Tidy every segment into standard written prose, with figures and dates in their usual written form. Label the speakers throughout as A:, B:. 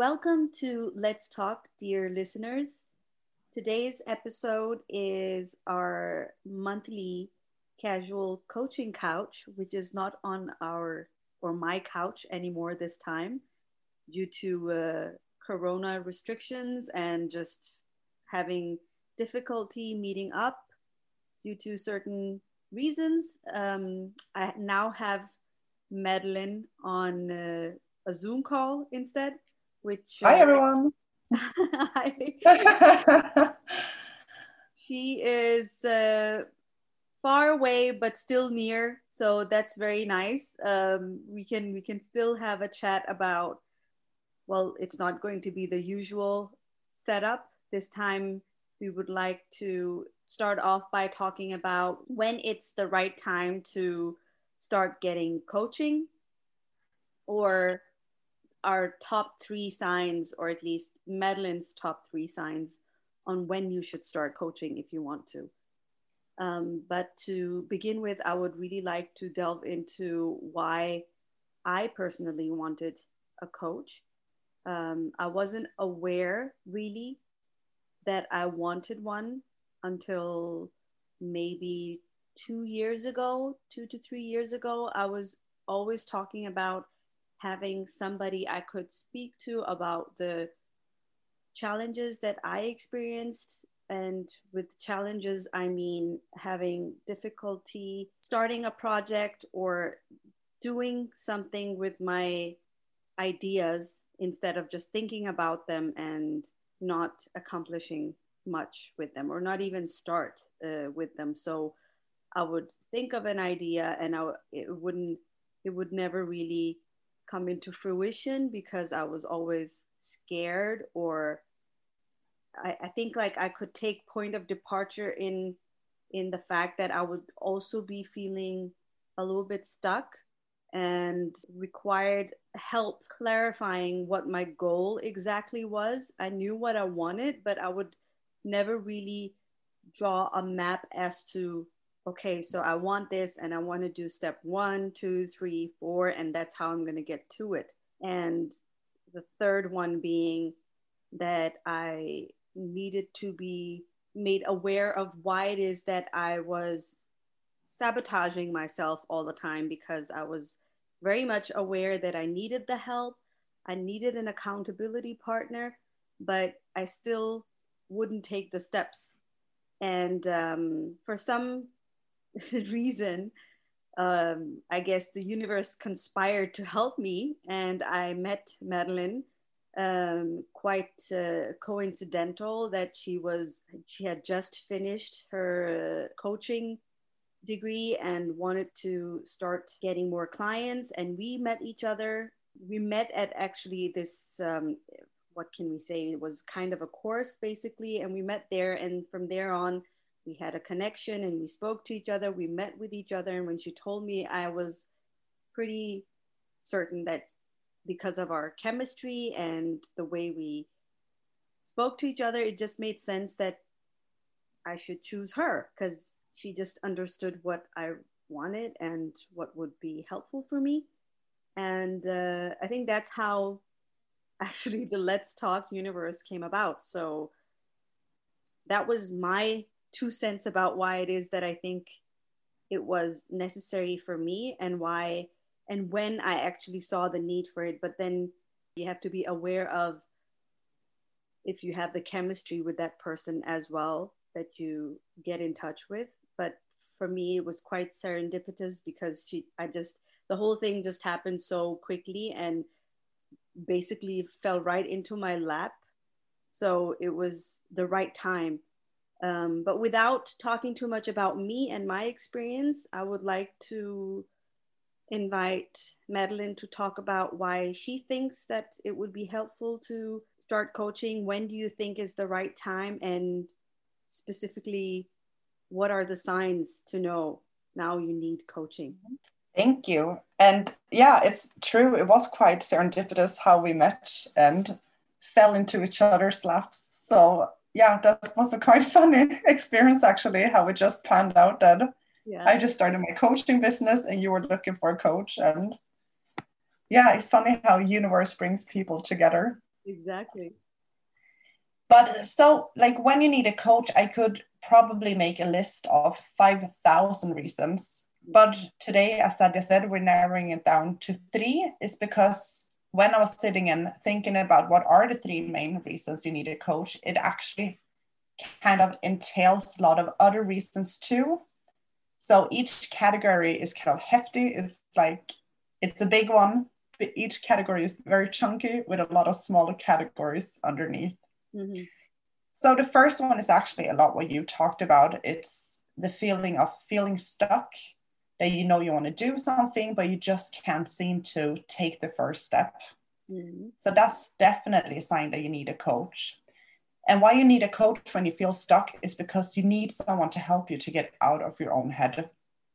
A: Welcome to Let's Talk, dear listeners. Today's episode is our monthly casual coaching couch, which is not on our or my couch anymore this time due to corona restrictions and just having difficulty meeting up due to certain reasons. I now have Madeline on a Zoom call instead, which
B: Hi everyone.
A: she is far away but still near, so that's very nice. We can still have a chat about, well, it's not going to be the usual setup this time. We would like to start off by talking about when it's the right time to start getting coaching, or our top three signs, or at least Madeline's top three signs on when you should start coaching if you want to. But to begin with, I would really like to delve into why I personally wanted a coach. I wasn't aware really that I wanted one until maybe 2 years ago, 2 to 3 years ago. I was always talking about having somebody I could speak to about the challenges that I experienced. And with challenges, I mean having difficulty starting a project or doing something with my ideas instead of just thinking about them and not accomplishing much with them, or not even start with them. So I would think of an idea and it would never really come into fruition because I was always scared, or I think like I could take point of departure in the fact that I would also be feeling a little bit stuck and required help clarifying what my goal exactly was. I knew what I wanted, but I would never really draw a map as to, okay, so I want this and I want to do step 1, 2, 3, 4, and that's how I'm going to get to it. And the third one being that I needed to be made aware of why it is that I was sabotaging myself all the time, because I was very much aware that I needed the help. I needed an accountability partner, but I still wouldn't take the steps. And for some reason, I guess the universe conspired to help me, and I met Madeline. Quite coincidental that she had just finished her coaching degree and wanted to start getting more clients, and we met each other. We met at actually this what can we say, it was kind of a course basically, and we met there, and from there on we had a connection and we spoke to each other, we met with each other. And when she told me, I was pretty certain that because of our chemistry and the way we spoke to each other, it just made sense that I should choose her, because she just understood what I wanted and what would be helpful for me. And I think that's how actually the Let's Talk universe came about. So that was my 2 cents about why it is that I think it was necessary for me, and why and when I actually saw the need for it. But then you have to be aware of if you have the chemistry with that person as well that you get in touch with. But for me, it was quite serendipitous because the whole thing just happened so quickly and basically fell right into my lap. So it was the right time. But without talking too much about me and my experience, I would like to invite Madeline to talk about why she thinks that it would be helpful to start coaching. When do you think is the right time? And specifically, what are the signs to know now you need coaching?
B: Thank you. And yeah, it's true. It was quite serendipitous how we met and fell into each other's laps. So yeah, that was a quite funny experience actually, how it just panned out that I just started my coaching business and you were looking for a coach. And yeah, it's funny how universe brings people together.
A: Exactly.
B: But so, like, when you need a coach, I could probably make a list of 5,000 reasons. But today, as I said, we're narrowing it down to three. Is because when I was sitting and thinking about what are the three main reasons you need a coach, it actually kind of entails a lot of other reasons too. So each category is kind of hefty. It's like, it's a big one, but each category is very chunky with a lot of smaller categories underneath.
A: Mm-hmm.
B: So the first one is actually a lot what you talked about. It's the feeling of feeling stuck, that you know you want to do something, but you just can't seem to take the first step.
A: Mm-hmm.
B: So that's definitely a sign that you need a coach. And why you need a coach when you feel stuck is because you need someone to help you to get out of your own head.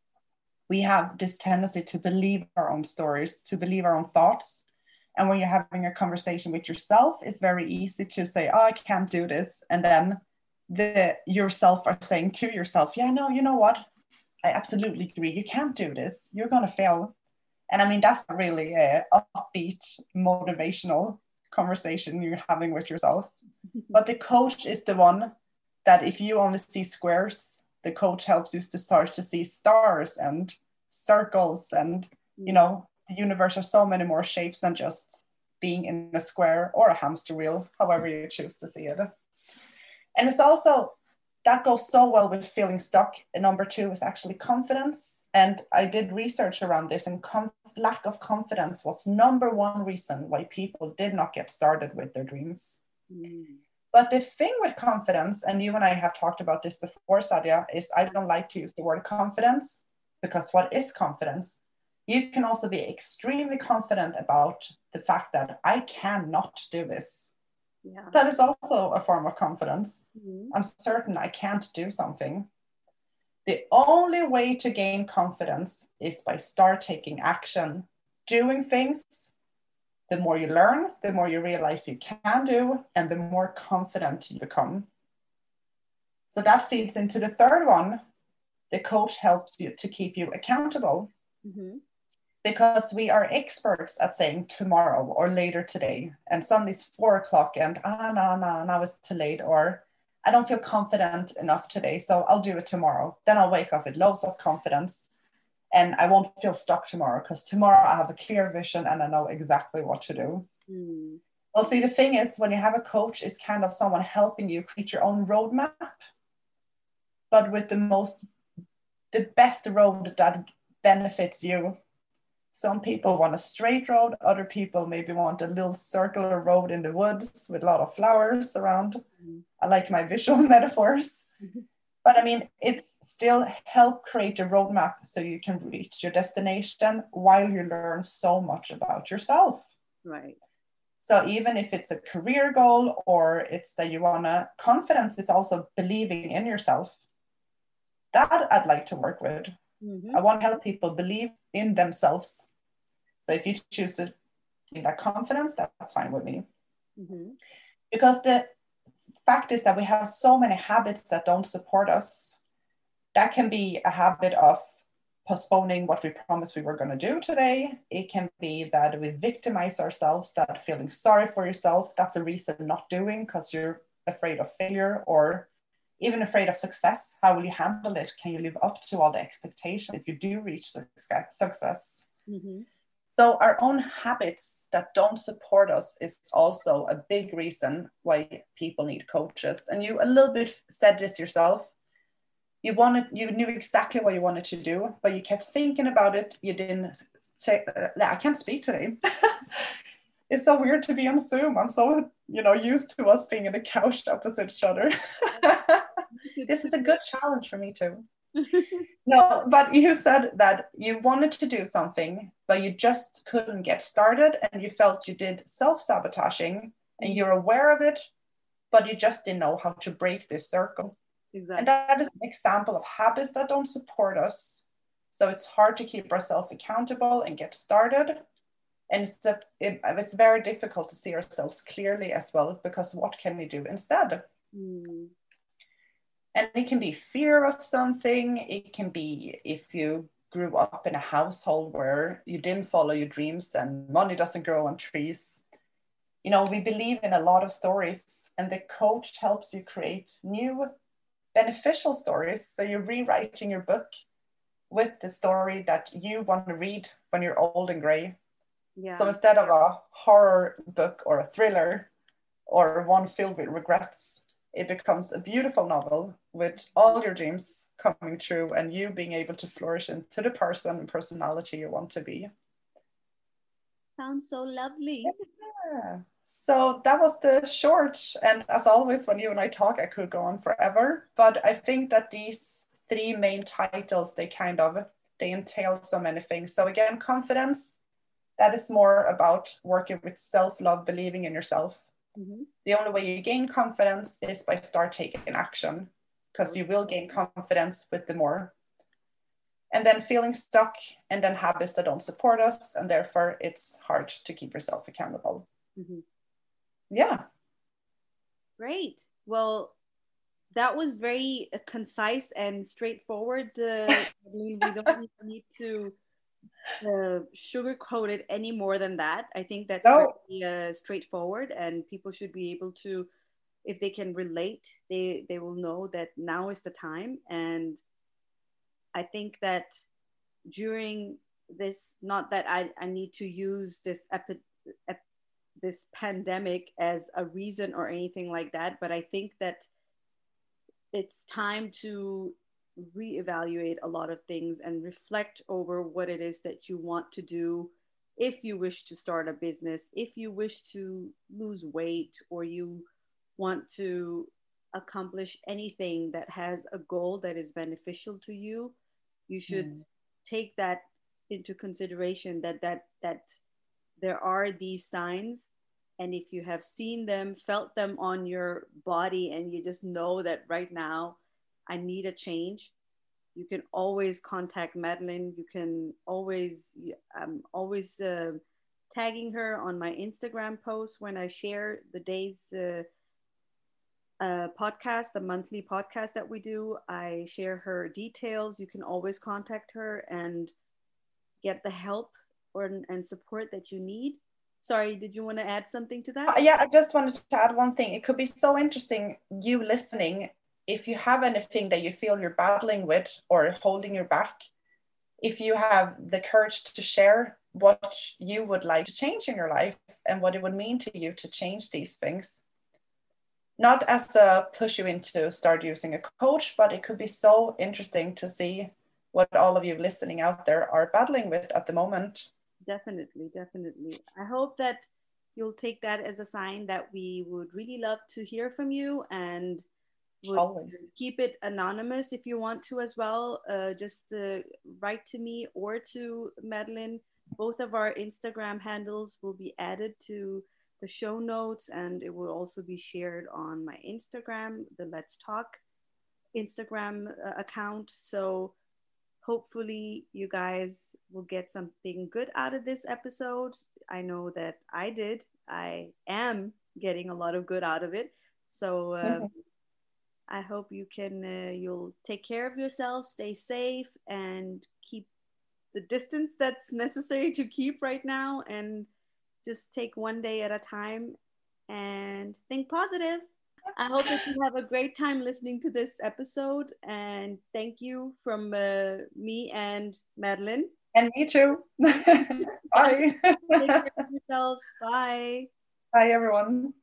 B: We have this tendency to believe our own stories, to believe our own thoughts. And when you're having a conversation with yourself, it's very easy to say, oh, I can't do this. And then yourself are saying to yourself, yeah, no, you know what? I absolutely agree. You can't do this. You're going to fail. And I mean, that's not really a upbeat, motivational conversation you're having with yourself. But the coach is the one that if you only see squares, the coach helps you to start to see stars and circles. And, you know, the universe has so many more shapes than just being in a square or a hamster wheel, however you choose to see it. And it's also, that goes so well with feeling stuck. And number two is actually confidence. And I did research around this, and lack of confidence was number one reason why people did not get started with their dreams. But the thing with confidence, and you and I have talked about this before, Sadia, is I don't like to use the word confidence, because what is confidence? You can also be extremely confident about the fact that I cannot do this. Yeah. That is also a form of confidence. Mm-hmm. I'm certain I can't do something. The only way to gain confidence is by start taking action, doing things. The more you learn, the more you realize you can do, and the more confident you become. So that feeds into the third one. The coach helps you to keep you accountable. Mm-hmm. Because we are experts at saying tomorrow or later today. And suddenly it's 4:00 and no, it's too late. Or I don't feel confident enough today, so I'll do it tomorrow. Then I'll wake up with loads of confidence. And I won't feel stuck tomorrow, because tomorrow I have a clear vision and I know exactly what to do. Well, see, the thing is, when you have a coach, it's kind of someone helping you create your own roadmap, but with the best road that benefits you. Some people want a straight road. Other people maybe want a little circular road in the woods with a lot of flowers around. I like my visual metaphors. But I mean, it's still help create a roadmap so you can reach your destination while you learn so much about yourself.
A: Right.
B: So even if it's a career goal, or it's that you want to, confidence is also believing in yourself. That I'd like to work with. Mm-hmm. I want to help people believe in themselves. So if you choose to in that confidence, that's fine with me. Mm-hmm. Because the fact is that we have so many habits that don't support us. That can be a habit of postponing what we promised we were going to do today. It can be that we victimize ourselves, that feeling sorry for yourself, that's a reason not doing because you're afraid of failure, or even afraid of success. How will you handle it? Can you live up to all the expectations if you do reach success? Mm-hmm. So our own habits that don't support us is also a big reason why people need coaches. And you a little bit said this yourself. You knew exactly what you wanted to do, but you kept thinking about it. You didn't say, I can't speak today. It's so weird to be on Zoom. I'm so, used to us being in the couch opposite each other. This is a good challenge for me too. No, but you said that you wanted to do something, but you just couldn't get started, and you felt you did self-sabotaging, and you're aware of it, but you just didn't know how to break this circle. Exactly. And that is an example of habits that don't support us. So it's hard to keep ourselves accountable and get started. And it's very difficult to see ourselves clearly as well, because what can we do instead? And it can be fear of something. It can be if you grew up in a household where you didn't follow your dreams and money doesn't grow on trees. You know, we believe in a lot of stories, and the coach helps you create new beneficial stories. So you're rewriting your book with the story that you want to read when you're old and gray.
A: Yeah.
B: So instead of a horror book or a thriller or one filled with regrets, it becomes a beautiful novel with all your dreams coming true and you being able to flourish into the person and personality you want to be.
A: Sounds so lovely.
B: Yeah. So that was the short. And as always, when you and I talk, I could go on forever. But I think that these three main titles, they entail so many things. So again, confidence, that is more about working with self-love, believing in yourself. Mm-hmm. The only way you gain confidence is by start taking action, because you will gain confidence with the more. And then feeling stuck, and then habits that don't support us, and therefore it's hard to keep yourself accountable. Mm-hmm. Yeah.
A: Great. Well, that was very concise and straightforward. We don't need to sugarcoat it any more than that. I think that's very straightforward, and people should be able to, if they can relate, they will know that now is the time. And I think that during this, not that I need to use this pandemic as a reason or anything like that, but I think that it's time to reevaluate a lot of things and reflect over what it is that you want to do. If you wish to start a business, if you wish to lose weight, or you want to accomplish anything that has a goal that is beneficial to you, you should take that into consideration, that there are these signs. And if you have seen them, felt them on your body, and you just know that right now I need a change, you can always contact Madeline. You can always, I'm always tagging her on my Instagram post when I share the day's podcast, the monthly podcast that we do. I share her details. You can always contact her and get the help and support that you need. Sorry, did you want to add something to that?
B: Yeah, I just wanted to add one thing. It could be so interesting, you listening, if you have anything that you feel you're battling with or holding you back, if you have the courage to share what you would like to change in your life and what it would mean to you to change these things. Not as a push you into start using a coach, but it could be so interesting to see what all of you listening out there are battling with at the moment.
A: Definitely. I hope that you'll take that as a sign that we would really love to hear from you, and would always keep it anonymous if you want to as well. Just write to me or to Madeline. Both of our Instagram handles will be added to the show notes, and it will also be shared on my Instagram, the Let's Talk Instagram account. So hopefully you guys will get something good out of this episode. I know that I did. I am getting a lot of good out of it. So I hope you'll take care of yourself, stay safe, and keep the distance that's necessary to keep right now, and just take one day at a time and think positive. I hope that you have a great time listening to this episode, and thank you from me and Madeline.
B: And me too. Bye.
A: Take care of yourselves. Bye.
B: Bye, everyone.